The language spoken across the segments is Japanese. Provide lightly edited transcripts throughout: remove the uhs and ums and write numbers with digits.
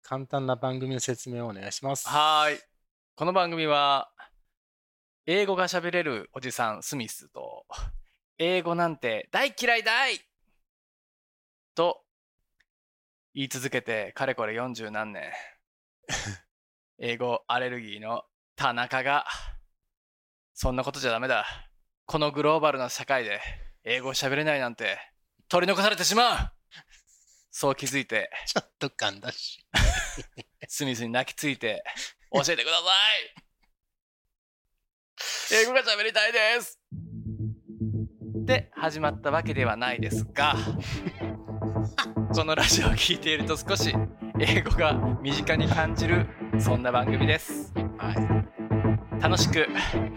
簡単な番組の説明をお願いします。 はーい。この番組は、英語が喋れるおじさんスミスと、英語なんて大嫌いだいと言い続けてかれこれ40何年。英語アレルギーの田中が、そんなことじゃダメだ。このグローバルな社会で英語を喋れないなんて取り残されてしまう。そう気づいて、 ちょっと噛んだし。 スミスに泣きついて教えてください。英語が喋りたいです。で始まったわけではないですが、このラジオを聞いていると少し英語が身近に感じる、そんな番組です。 は楽しく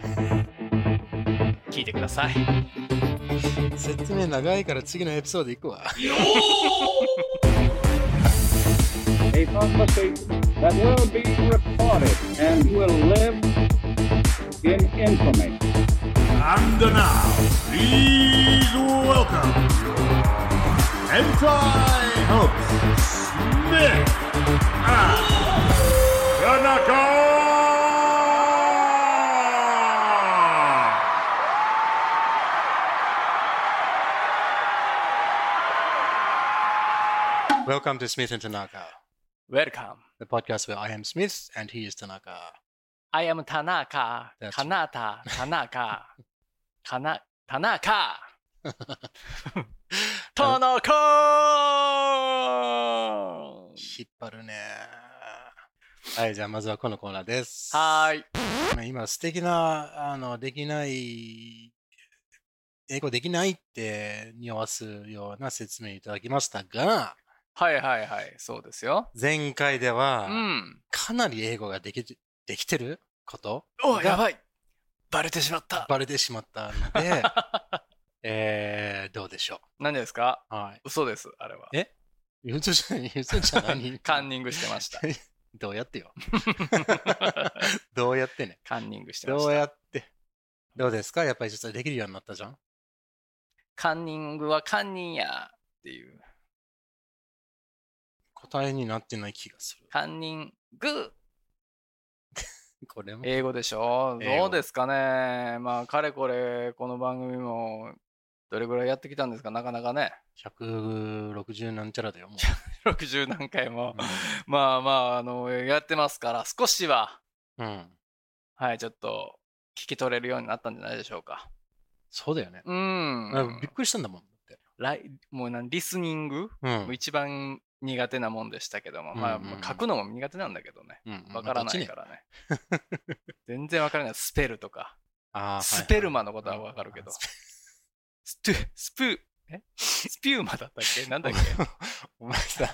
聞いてください。 い。説明長いから次のエピソード行くわ。 A conversation that will be recorded and will live in infamy. And now, please welcome Hentai hosts Smith and Tanaka! Welcome to Smith and Tanaka, Welcome. the podcast where I am Smith and he is Tanaka. I am Tanaka. That's Kanata. Tanaka. Tanaka. Tanaka! 引っ張るね。はい、じゃあまずはこのコーナーです。 はーい。 今素敵な、できない、英語できないって匂わすような説明いただきましたが、 はいはいはい。そうですよ。 前回では、 うん。 かなり英語ができてることお、 がやばい。バレてしまった。 バレてしまったので、どうでしょ何ですか？ う。はい。 嘘です、あれは。 嘘じゃ何カンニングしてました。 どうやってよ。どうやってね。 カンニングしてましどうた。 やって。どうですか？やっぱり実際できるようになったじゃん。 カンニングはカンニンやっていう。 答えになってない気がする。 カンニング。 これも。 英語でしょ？ 英語どうですかね。まあ、かれこれ、この番組も、どれぐらいやってきたんですか？なかなかね。 160なんちゃらだよ、も 60何回も。 う。 まあまあ、やってますから、少しは、 うん。 はい、ちょっと、聞き取れるようになったんじゃないでしょうか。 そうだよね。びっくりしたんだもん。だってもうリスニング、もう一番苦手なもんでしたけども、まあ、書くのも苦手なんだけどね。わからないからね。全然わからない。スペルとか。スペルマのことはわかるけど。スピューマだったっけ？なんだっけ？ お前さ、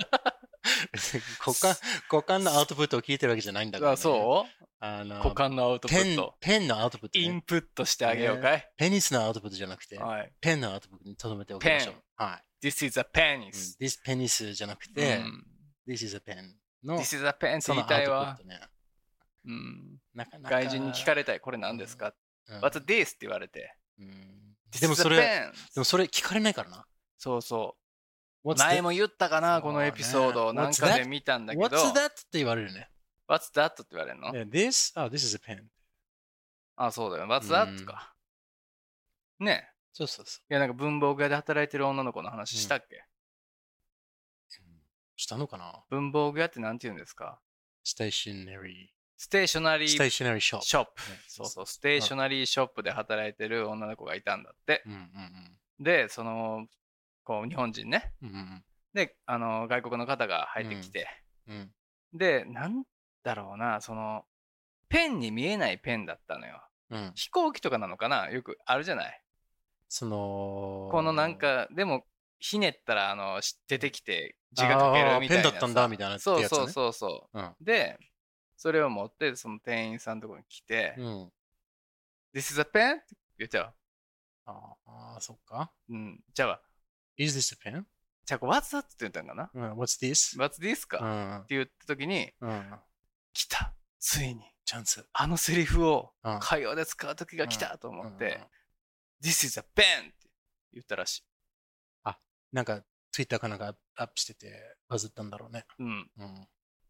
股間のアウトプットを聞いてるわけじゃないんだからね。 そう股間のアウトプット。 ペンのアウトプット、ね。 インプットしてあげようかい？ ペニスのアウトプットじゃなくて、 はい、 ペンのアウトプットに留めておきましょう。はい。 This is a penis. This penis じゃなくて、This is a pen の This is a pen って言いたいわ。 なかなか外人に聞かれたい。これ何ですか？What's this? って言われて。 でもそれ聞かれないからな。 そうそう。前も言ったかな、このエピソード。なんかで見たんだけど。 What's that? って言われるね。 What's that? って言われるの？ This is a pen. そうだよ。What's that? か。ね。 そう。 いや、なんか文房具屋で働いてる女の子の話したっけ？ したのかな？ 文房具屋ってなんて言うんですか？ ステーショナリーショップ。そう、ステーショナリーショップで働いてる女の子がいたんだって。で、日本人ね。で、外国の方が入ってきて。で、なんだろうな、ペンに見えないペンだったのよ。飛行機とかなのかな？よくあるじゃない。このなんか、でも、ひねったら、出てきて字が書けるみたいな。 ペンだったんだみたいな。 そう。で、それを持って、その店員さんのところに来て、This is a pen? って言っちゃう。 そっか。 じゃあ、 Is this a pen? じゃあ、What's that? って言ったんかな？ What's this? か、って言ったときに、来た。ついに。 チャンス。 あのセリフを会話で使うときが来たと思って、This is a pen! って言ったらしい。 なんか、Twitter かなんかアップしてて、バズったんだろうね。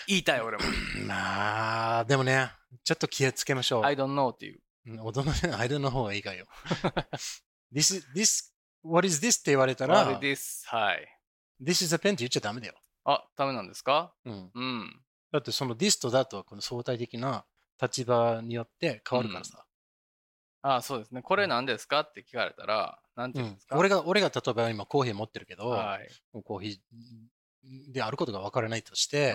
言いたい俺も。 まあ、でもね、ちょっと気をつけましょう。 I don't know っていう。 大人の間の方がいいかよ。what is this って言われたら、 What is this? はい。 This is a pen って言っちゃダメだよ。 あ、ダメなんですか？ うん。 うん。 だってその this とだとこの相対的な立場によって変わるからさ。 あ、そうですね。これ何ですかって聞かれたら、なんて言うんですか？ 俺が例えば今コーヒー持ってるけど、 はい。 コーヒーであることが分からないとして、 うん。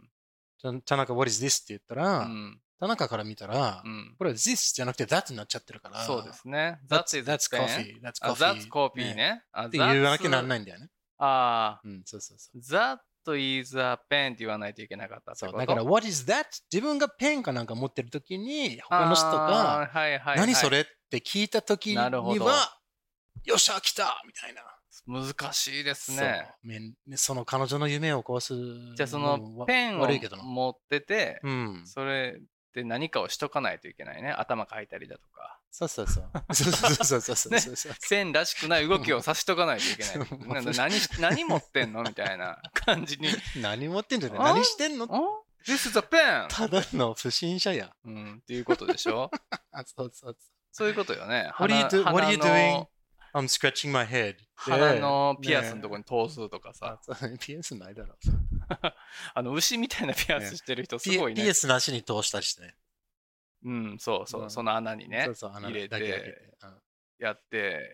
田中 What is this って言ったら、 うん。 田中から見たら、 うん。 これは this じゃなくて that になっちゃってるから。 そうですね。 That's coffee. That's That's coffee ね。 って言わなきゃなんないんだよね。 ああ。 うん、そうそうそう。 That is a pen って言わないといけなかったってこと。 そう、だから What is that? 自分がペンかなんか持ってるときに、他の人が、何それって聞いたときには、よっしゃ、来たみたいな。 難しいですね。 その彼女の夢を壊す。 じゃあそのペンを持ってて、それで何かをしとかないといけないね。頭書いたりだとか。 そうそうそう。 線らしくない動きをさしとかないといけない。何持ってんのみたいな感じに。 何持ってんじゃない？何してんの？ This is a pen! ただの不審者や。 っていうことでしょ？そういうことよね。 What are you doing? I'm scratching my head. 鼻のピアスのとこに通すとかさ。 ピアスないだろ。 牛みたいなピアスしてる人すごいね。 ピアスなしに通したりしてね。 そうそう、その穴にね、入れて、やって、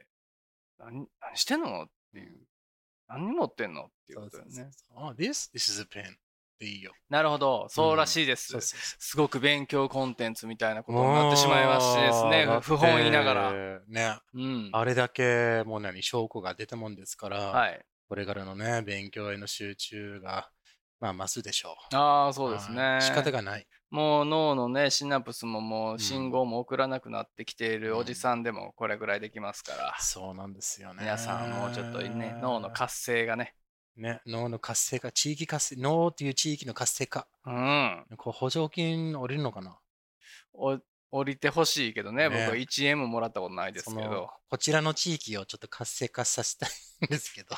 何してんのっていう。何持ってんのっていうことだよね。 This is a pen. でいいよ。 なるほど、そうらしいです。すごく勉強コンテンツみたいなことになってしまいましてですね、不本言いながら。 ね、あれだけもう証拠が出たもんですから、これからのね、勉強への集中が、まあ、増すでしょう。 ああ、そうですね。 仕方がない。 もう脳のね、シナプスももう信号も送らなくなってきているおじさんでもこれぐらいできますから。 そうなんですよね。 皆さんもうちょっとね、脳の活性がね。 ね、脳の活性化、地域活性、脳っていう地域の活性化。こう補助金降りるのかな？ 降りてほしいけどね、僕は1円ももらったことないですけど。 こちらの地域をちょっと活性化させたいんですけど。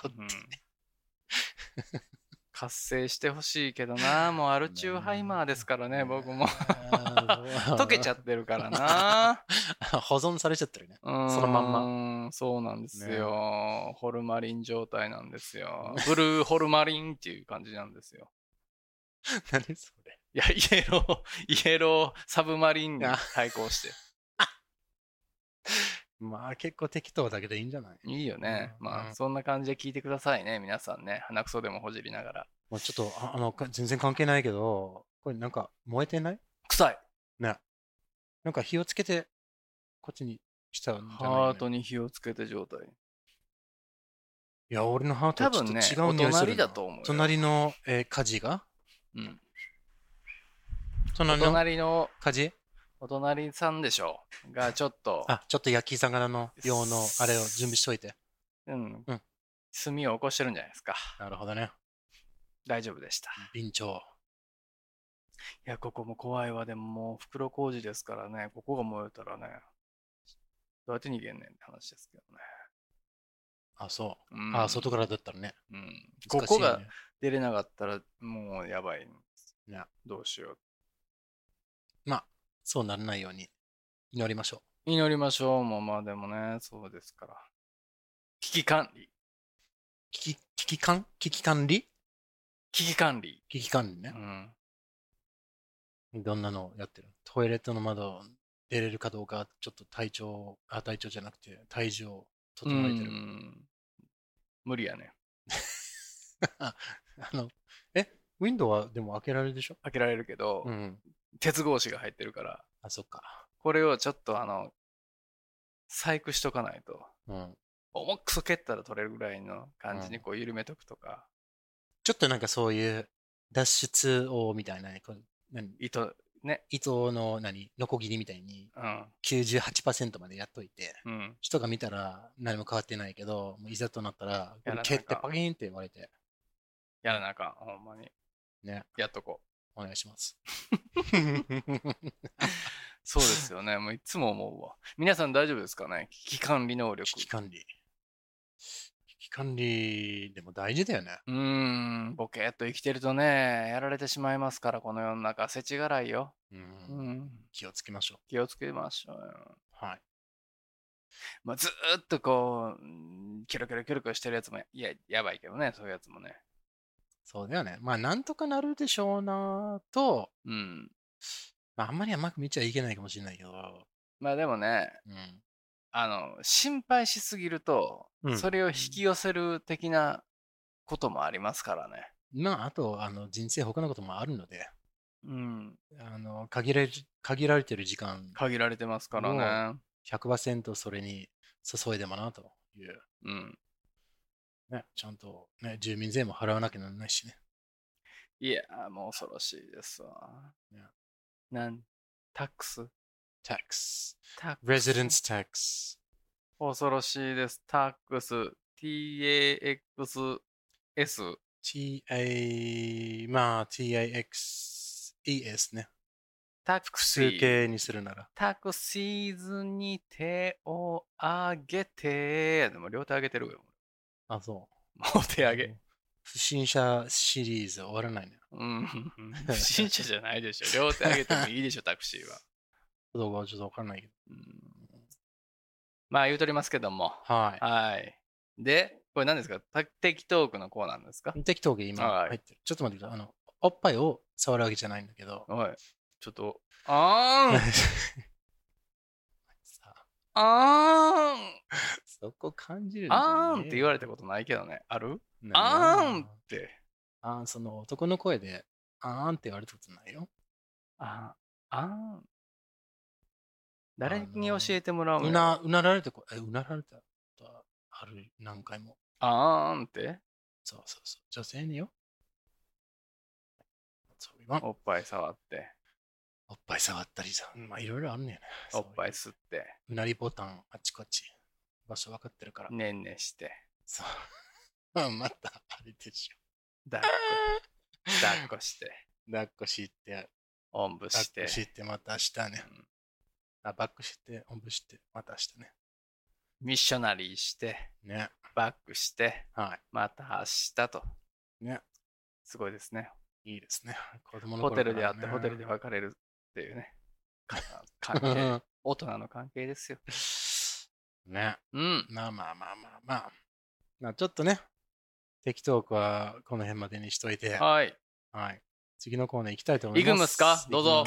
活性してほしいけどな、もうアルチューハイマーですからね、僕も。溶けちゃってるからな。 保存されちゃってるね。そのまんま。 そうなんですよ。ホルマリン状態なんですよ。ブルーホルマリンっていう感じなんですよ。 何それ？ いや、イエローサブマリンに対抗して。 まあ結構適当だけどいいんじゃない？ いいよね。まあそんな感じで聞いてくださいね、皆さんね。鼻くそでもほじりながら。 もうちょっと全然関係ないけど、これなんか燃えてない？ 臭い。 ね。なんか火をつけてこっちにしたんじゃない？ ハートに火をつけて状態。 いや、俺のハートはちょっと違う匂いする。 お隣だと思う。 隣の火事が？ 隣の火事？ お隣さんでしょがちょっとちょっと焼き魚の用のあれを準備しといて。 炭を起こしてるんじゃないですか。 なるほどね。 大丈夫でした。 備長。 いや、ここも怖いわ。でももう袋小路ですからね、ここが燃えたらね、どうやって逃げんねんって話ですけどね。 そう。外からだったらね。 ここが出れなかったらもうやばいんです。どうしよう。 まあ、そうならないように祈りましょう。祈りましょう。まあでもね、そうですから。危機管理。 危機管理？ 危機管理。 危機管理ね。どんなのやってる？トイレットの窓出れるかどうか、ちょっと体調じゃなくて体重を整えてる。 無理やね。 ウィンドウはでも開けられるでしょ？ 開けられるけど、鉄格子が入ってるから。 そっか。 これをちょっと細工しとかないと。重くそ蹴ったら取れるぐらいの感じにこう緩めとくとか。 ちょっとなんかそういう脱出王みたいな、 糸のノコギリみたいに 98% までやっといて、人が見たら何も変わってないけど、いざとなったら蹴ってパキーンって言われて。 やらなあかん、ほんまに。 ね。 やっとこう。お願いします。 そうですよね。もういつも思うわ。皆さん大丈夫ですかね？危機管理能力。 危機管理管理でも大事だよね。 ボケっと生きてるとね、やられてしまいますから、この世の中、世知辛いよ。 気をつけましょう。 気をつけましょうよ。 はい。 まあ、ずーっとこう、キョロキョロキョロキョロしてるやつもやばいけどね、そういうやつもね。 そうだよね。まあ、なんとかなるでしょうなと、まあ、あんまり甘く見ちゃいけないかもしれないけど。 まあでもね、心配しすぎると、それを引き寄せる的なこともありますからね。 まあ、あと、人生他のこともあるので、限られてる時間。 限られてますからね。 100% それに注いでもなという。ね、ちゃんと、ね、住民税も払わなきゃならないしね。 いや、もう恐ろしいですわ。タックス ?tax。residence tax。 恐ろしいです。タックス。TAXS。 まあ、TAXES ね。 タクシー。 数形にするなら。 タクシーズに手を上げて。でも両手上げてるよ。 あ、そう。 もう手上げ。 不審者シリーズ終わらないね。 不審者じゃないでしょ。両手上げてもいいでしょ、タクシーは。 どうかちょっとわかんないけど。 まあ言うとりますけども。 はい。 で、これ何ですか？テキトークのコーナーですか？ テキトーク今入ってる。ちょっと待ってください。おっぱいを触るわけじゃないんだけど。 ちょっと、 そこ感じるんじゃねって言われたことないけどね。ある？って。 その男の声で、って言われたことないよ。 誰に教えてもらうの？ うなられたことある、何回も。 って？ そう。女性によ。 おっぱい触って。 おっぱい触ったりさ。まあいろいろあるね。 おっぱい吸って。 うなりボタンあっちこっち。場所分かってるから。 ねんねして。 そう。またあれでしょ。 抱っこして。 抱っこして。 おんぶして。 抱っこしてまた明日ね。バックして、おんぶして、また明日ね。 ミッショナリーして。 ね。 バックして。また明日と。 ね。 すごいですね。 いいですね。 ホテルで会ってホテルで別れるっていうね。関係。大人の関係ですよ。 ね。まあちょっとね、テキトークはこの辺までにしといて。はい。次のコーナー行きたいと思います。 行くんですか？どうぞ。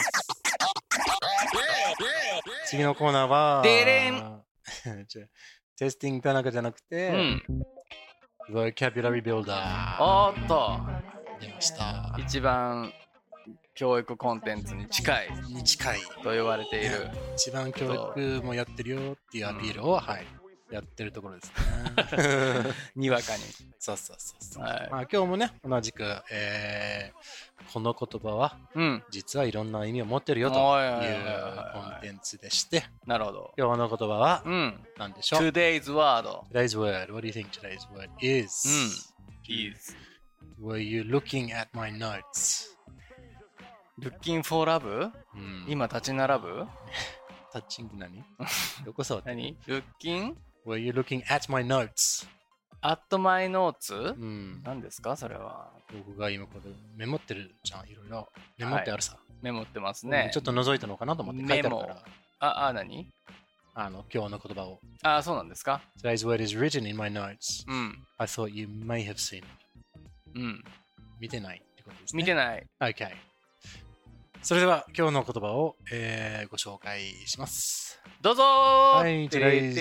次のコーナーは、 デレンテスティング田中じゃなくて、Vocabulary Builder。 おっと。 出ました。 一番教育コンテンツに近いと言われている。 一番教育もやってるよっていうアピールを、やってるところですね。 にわかに。 そう。まあ今日もね、同じく、この言葉は、実はいろんな意味を持ってるよというコンテンツでして。 なるほど。 今日の言葉は、何でしょう？ Today's word. Today's word. What do you think today's word is? Were you looking at my notes?Looking for love? 今立ち並ぶ？ タッチング何？どこ触ってる？ 何？ Looking? Were you looking at my notes? At my notes? 何ですかそれは？ 僕が今これメモってるじゃん、いろいろ。メモってあるさ。 メモってますね。 ちょっと覗いたのかなと思って書いてあるから。 何？ 今日の言葉を。 そうなんですか？ Today's word is written in my notes. I thought you may have seen it. 見てないってことですね。 見てない。 Okay. それでは今日の言葉を、ご紹介します。 どうぞー。はい、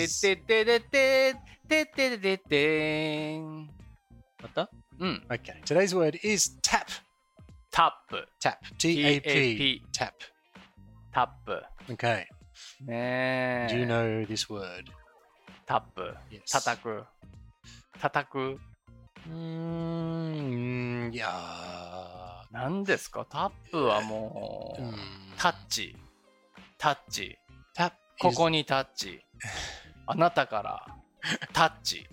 また？Okay. Today's word is tap. Tap. T-A-P. Tap. Tap. Okay. ねえ。 Do you know this word? タップ。叩く。叩く。 いやー。何ですか？タップはもう、タッチ。タッチ。ここにタッチ。あなたからタッチ。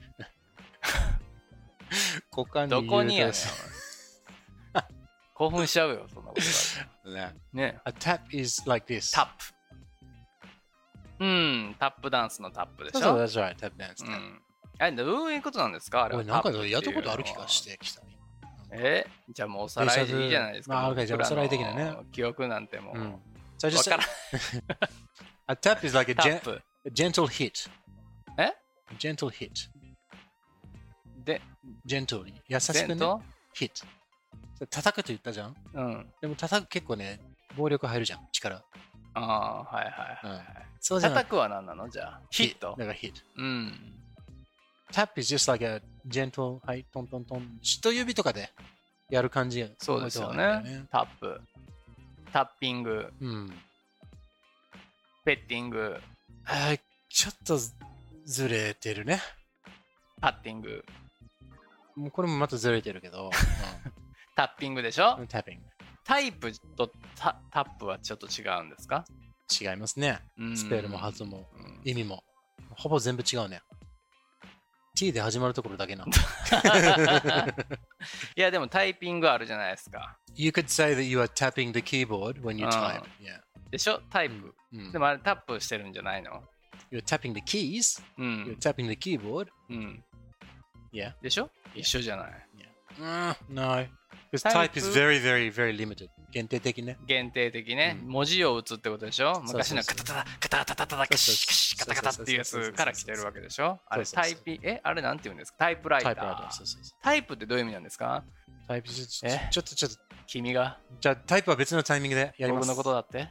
どこにやねん。興奮しちゃうよ、そんなこと言われて。ね。 A tap is like this. タップ。タップダンスのタップでしょ？ そう、that's right, tap dance. どういうことなんですかあれは。 俺なんかやったことある気がしてきた。 じゃあもうおさらいでいいじゃないですか。 まあ、じゃあおさらい的なね。 記憶なんてもう。 So just a tap is like a gentle hit. gentle hit. で、 gentle 優しくね。hit。叩くと言ったじゃん。でも叩く結構ね、暴力入るじゃん、力。 はいはいはい。そうじゃ叩くは何なのじゃあ。ヒット。 だから hit。tap is just like a gentle, はい、トントントン。人指とかでやる感じ。 そうですよね。タップ。タッピング。ペッティング。 ちょっとずれてるね。 パッティング。 もうこれもまたずれてるけど。 タッピングでしょ？ タッピング。 タイプとタップはちょっと違うんですか？ 違いますね。スペルも発音も意味も。ほぼ全部違うね。T で始まるところだけな。 いやでもタイピングあるじゃないですか。 You could say that you are tapping the keyboard when you type. Yeah. でしょタイプ。でもあれタップしてるんじゃないの？ You're tapping the keys. You're tapping the keyboard. Yeah. でしょ一緒じゃない。 No. Because type is very, very, very limited. 限定的ね。 限定的ね。文字を打つってことでしょ昔のカタタタ、カタタタタタ、カシカシカタカタっていうやつから来てるわけでしょあれタイピ、あれなんて言うんですかタイプライター。タイプってどういう意味なんですかタイプ、ちょっと。 君がじゃあタイプは別のタイミングでやります。 僕のことだって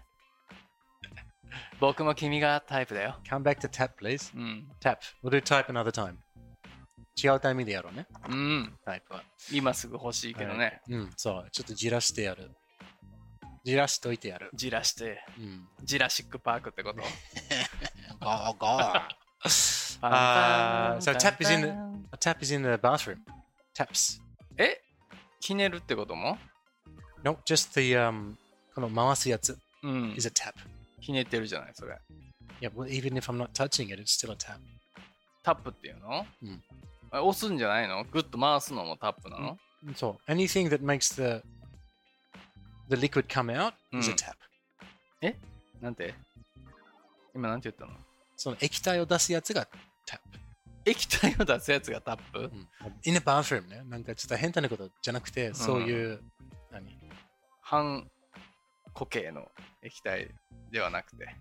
僕も君がタイプだよ。 Come back to tap, please. Tap. We'll do type another time. 違うタイミングでやろうね。タイプは。 今すぐ欲しいけどね。 そう。ちょっとじらしてやる。じらしといてやる。 じらして。ジラシックパークってこと？ ゴー。So tap is in the bathroom. Taps. ひねるってことも？ No, just the この回すやつ。is a tap. ひねってるじゃないそれ。 Yeah, well, even if I'm not touching it, it's still a tap. タップっていうの？押すんじゃないの？グッと回すのもタップなの？ そう。Anything that makes the liquid come out is a tap. なんて？今なんて言ったの？ その液体を出すやつが tap. 液体を出すやつがタップ ？In a bathroom ね。なんかちょっと変なことじゃなくて、そういう、 半固形の液体ではなくて。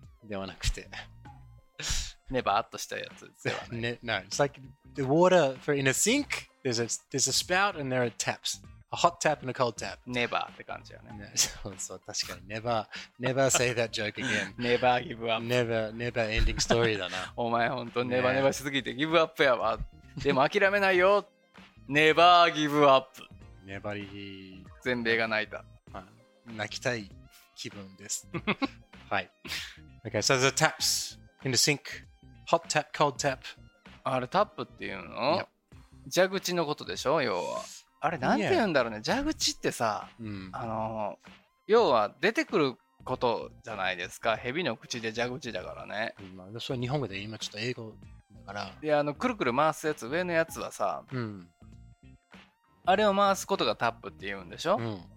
ネバーっとしたやつではない。 No, it's like the water for in a sink, there's a spout and there are taps. A hot tap and a cold tap. ネバーって感じやね。 そう、確かに。Never say that joke again. Never give up. Never ending story だな。 お前ほんとネバネバしすぎてギブアップやわ。でも諦めないよ。Never give up. 粘り。 全米が泣いた。 泣きたい気分です。はい。Okay, so the taps in the sink.Hot tap, cold tap. あれタップっていうの？蛇口のことでしょ要は。あれなんて言うんだろうね。蛇口ってさ、要は出てくることじゃないですか。蛇の口で蛇口だからね。 それ日本語で今ちょっと英語だから。 で、くるくる回すやつ、上のやつはさ、あれを回すことがタップって言うんでしょ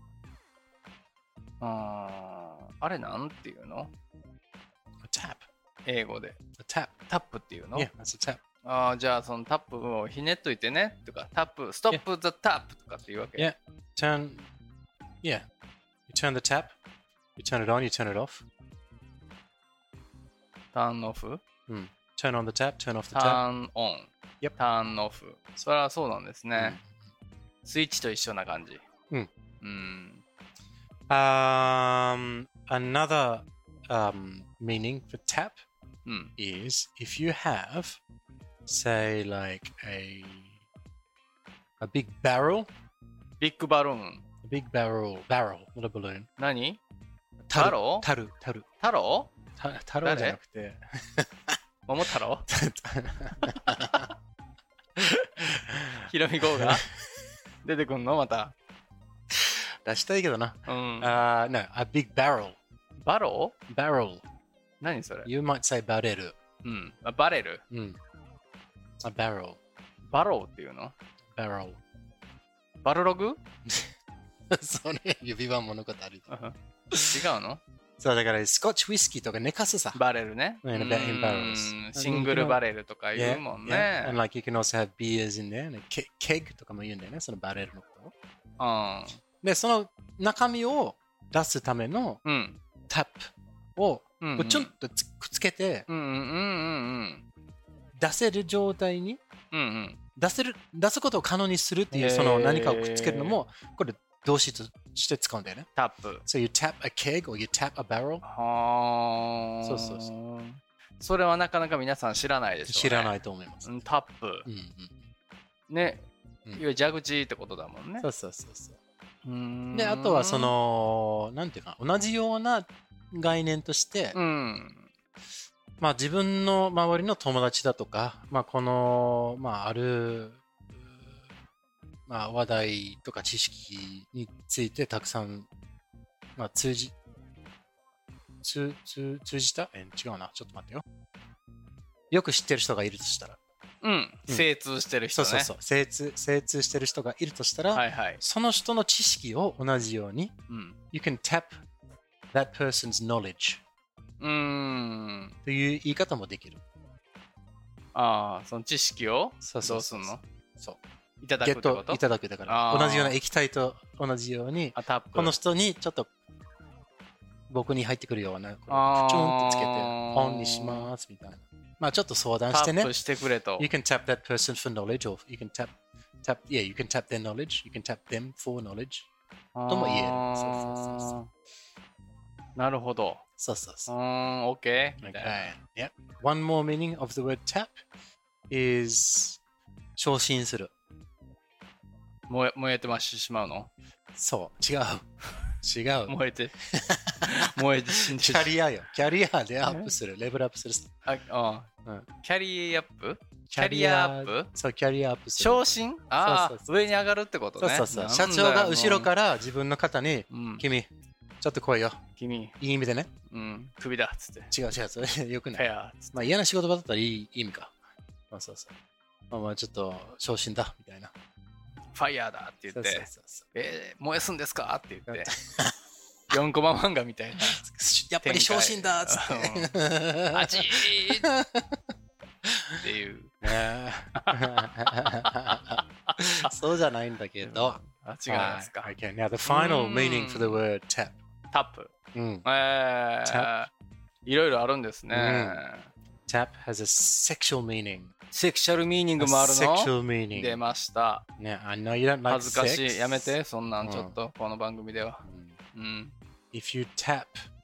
あれなんていうの ？tap。 英語で。 タップっていうの？ Yeah, that's a tap. じゃあそのタップをひねっといてねとか、タップ、ストップ the tap とかっていうわけ。 Yeah, you turn the tap, you turn it on, you turn it off. Turn off? Turn on the tap, turn off the tap. Turn on. Yep. Turn off. それはそうなんですね。スイッチと一緒な感じ。 Another meaning for tap is if you have, say, like a big barrel. Big balloon. A big barrel, not a balloon. 何？ タル。 太郎じゃなくて。 桃太郎ひろみ号が出てくんのまた。 出したいけどな。No, a big barrel. バロー Barrel. 何それ You might say バレル。 バレル A barrel. バローっていうの Barrel. バルログそれ指輪物語。違うのそうだからスコッチウイスキーとか寝かすさ。 バレルね。 In barrels. シングルバレルとか言うもんね。 Yeah. And like you can also have beers in there. Keg とかも言うんだよね、そのバレルのこと。で、その中身を出すためのタップをちょんとくっつけて、出せる状態に、出すことを可能にするっていう、その何かをくっつけるのも、これ動詞として使うんだよね。 タップ。 So you tap a keg or you tap a barrel. そうそうそう。 それはなかなか皆さん知らないでしょうね。 知らないと思います。 タップ。ね。いわゆる蛇口ってことだもんね。 そうそうそうそう。で、あとはその、なんていうか、同じような概念として、まあ自分の周りの友達だとか、まあこの、まあある、まあ、話題とか知識についてたくさん、まあ、通じた違うな。ちょっと待ってよ。よく知ってる人がいるとしたら。 精通してる人ね。 そう。精通してる人がいるとしたら、その人の知識を同じように、You can tap that person's knowledge という言い方もできる。 ああ、その知識をどうすんの？そう。いただくってこと？ いただくだから。同じような液体と同じように、この人にちょっと僕に入ってくるような、プチョンってつけて、オンにしますみたいな。まあちょっと相談してね。 タップしてくれと。 You can tap that person for knowledge, or you can tap you can tap their knowledge, you can tap them for knowledge. とも言える。 なるほど。 そうそうそう。 OK? Okay. Yeah. One more meaning of the word tap is 昇進する。 燃えてしまうの？ そう、違う。 燃えて死んでキャリアよ。キャリアでアップする。レベルアップする。 キャリアアップ？キャリアアップ？ そう、キャリアアップする。 昇進？上に上がるってことね。 そう。社長が後ろから自分の肩に、君、ちょっと来いよ。 君。 いい意味でね。 首だっつって。 違う、それよくない。まあ嫌な仕事場だったらいい意味か。そう。まあちょっと昇進だ、みたいな。 ファイヤーだって言って、燃やすんですかって言って、4コマ漫画みたいな。 やっぱり昇進だっつって。 あちーっていう。 そうじゃないんだけど。 違うんですか。 Okay, now the final meaning for the word tap. タップ。いろいろあるんですね。 Tap has a sexual meaning. セクシャルミーニングもあるの？ Sexual meaning. 出ました。 I know you don't like 恥ずかしい。やめて、そんなんちょっと、この番組では。 If you tap.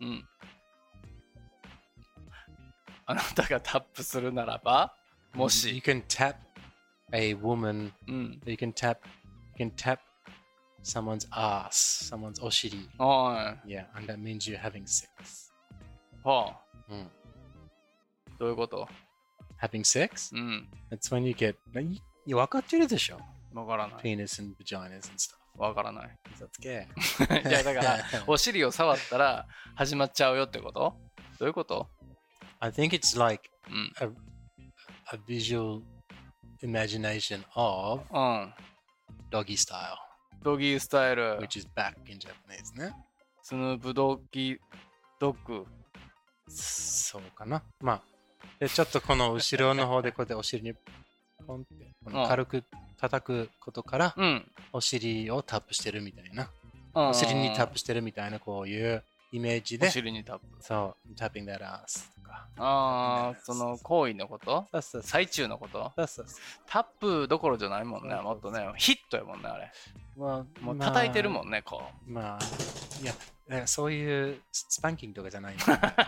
あなたがタップするならば、もし。 You can tap a woman. You can tap someone's ass, someone's お尻。Yeah, and that means you're having sex. はあ。どういうこと？ Having sex? That's when you get... 分かってるでしょ？ 分からない。 Penis and vaginas and stuff. 分からない。 嘘つけ。 いやだから、お尻を触ったら始まっちゃうよってこと？どういうこと？ I think it's like a visual imagination of doggy style. ドギースタイル。 Which is back in Japanese ね。 スヌープドッグ。 そうかな。まあ。でちょっとこの後ろの方でこうやってお尻にポンってこの軽く叩くことから、お尻をタップしてるみたいな、お尻にタップしてるみたいなこういうイメージで、 お尻にタップ。 そう、タッピング that ass とか。 その行為のこと？最中のこと？タップどころじゃないもんね、もっとね、ヒットやもんね、あれ。もう叩いてるもんね、こう。 まあ、いや、そういうスパンキングとかじゃない。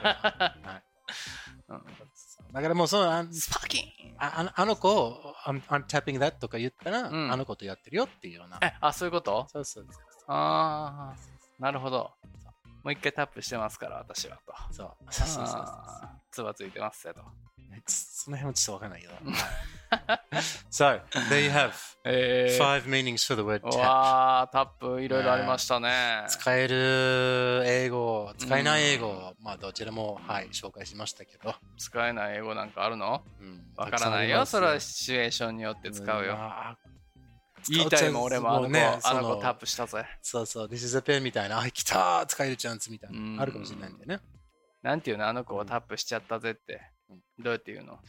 だからもうそのスパーキンあの子、I'm tapping that とか言ったら、あの子とやってるよっていうような。 そういうこと？ そう。 なるほど。もう一回タップしてますから、私はと。 そう。 つばついてますよと。 その辺はちょっとわかんないけど。So, there you have 5 meanings for the word tap. わー、タップいろいろありましたね。 使える英語、使えない英語、まあどちらも紹介しましたけど。 使えない英語なんかあるの？わからないよ。それはシチュエーションによって使うよ。 言いたいもん俺もあの子、 ね、 あの子タップしたぜ。 そうそう、This is a pen みたいな、来たー使えるチャンスみたいな、あるかもしれないんだよね。 なんていうの、あの子をタップしちゃったぜって。どうやって言うの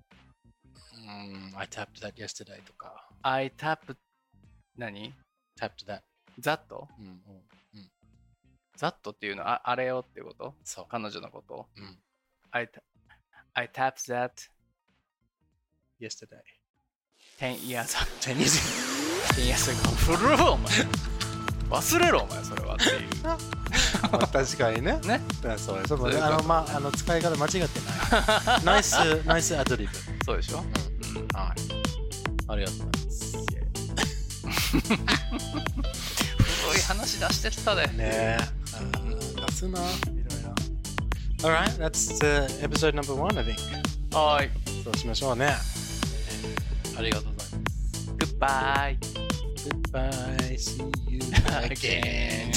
？I tapped that yesterday とか。 I tapped 何 ？tapped that。 ざっと？ざっとっていうのはあれよってこと？ そう。 彼女のこと？I tapped that yesterday 10 years ago 10 years ago 古いお前忘れろお前それはっていう確かにねそうそう使い方間違ってないナイスアドリブそうでしょ、はいありがとうございます古い話出してったでね出すないろいろAlright, that's episode number 1, I think. はい。 そうしましょうね。ありがとうございます。 Goodbye. See you again.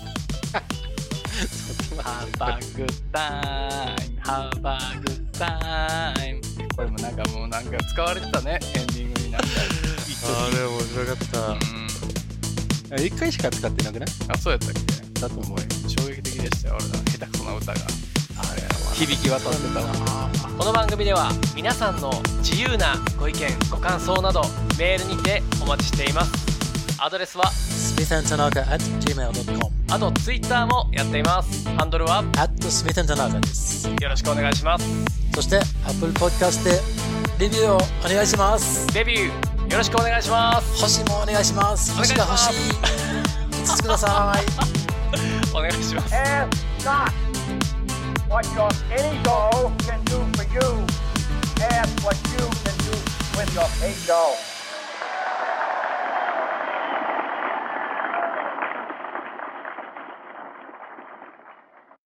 Have a good time. Have a good time. これもなんか使われてたね、エンディングになんか。 あれ面白かった。1回しか使ってなくない？ あ、そうやったっけ？ だと思うよ。 衝撃的でしたよ、俺の下手くそな歌が。響き渡ってたわ。この番組では皆さんの自由なご意見ご感想などメールにてお待ちしています。アドレスは smithandtanaka@gmail.com あとツイッターもやっています。ハンドルは @smithandtanaka です。 よろしくお願いします。 そして Apple Podcast でレビューをお願いします。 レビューよろしくお願いします。 星もお願いします。星が欲しい。5つください。 お願いします。 What your ego can do for you, ask what you can do with your ego.